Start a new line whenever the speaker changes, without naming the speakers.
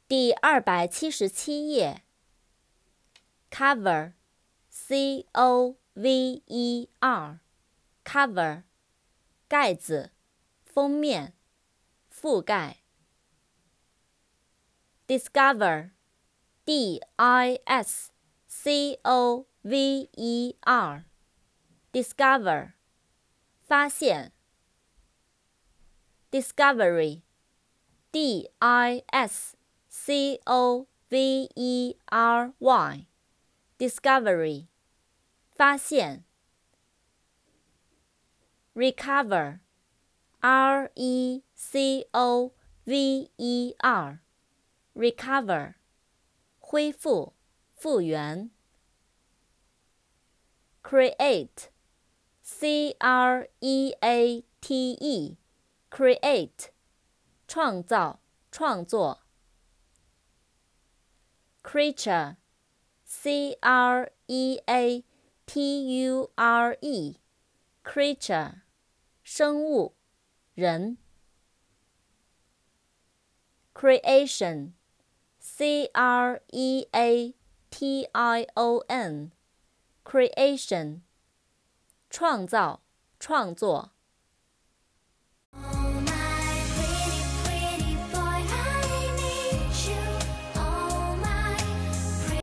第277页 ，cover， C-O-V-E-R， cover， 盖子，封面，覆盖。discover， D-I-S-C-O-V-E-R， discover， 发现。discovery， D-I-S-C-O-V-E-R-Y， discovery， 发现。recover， R-E-C-O-V-E-R， recover， 恢复，复原。create， C-R-E-A-T-E， create， 创造，创作。creature， C-R-E-A-T-U-R-E， creature， 生物，人。creation， C-R-E-A-T-I-O-N， creation， 创造，创作。